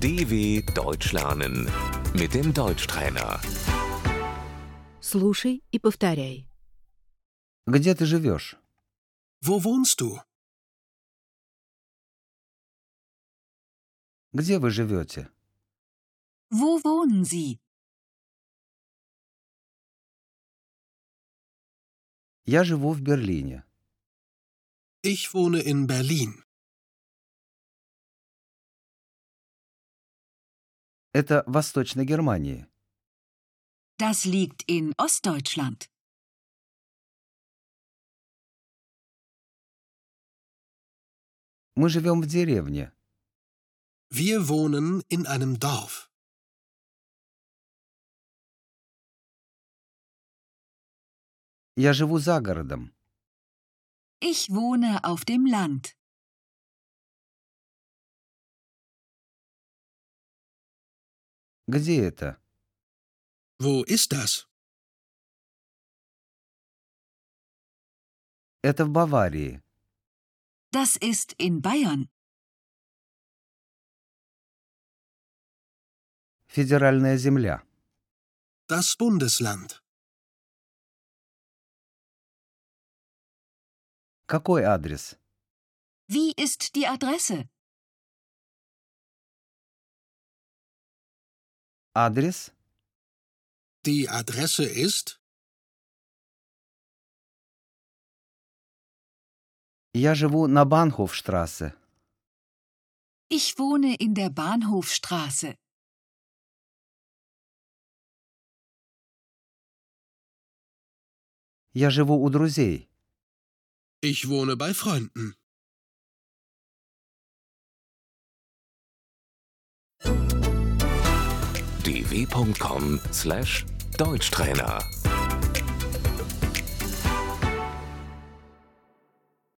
DW Deutsch lernen mit dem Deutschtrainer. Слушай и повторяй. Где ты живешь? Wo wohnst du? Где вы живете? Wo wohnen Sie? Я живу в Берлине. Ich wohne in Berlin. Это в Восточной Германии. Das liegt in Ostdeutschland. Мы живем в деревне. Wir wohnen in einem Dorf. Я живу за городом. Ich wohne auf dem Land. Где это? Wo ist das? Это в Баварии. Das ist in Bayern. Федеральная земля. Das Bundesland. Какой адрес? Wie ist die Adresse? Адрес? Die Adresse ist? Я живу на Банхофштрассе. Ich wohne in der Bahnhofstraße. Я живу у друзей. Ich wohne bei Freunden. dw.com/Deutschtrainer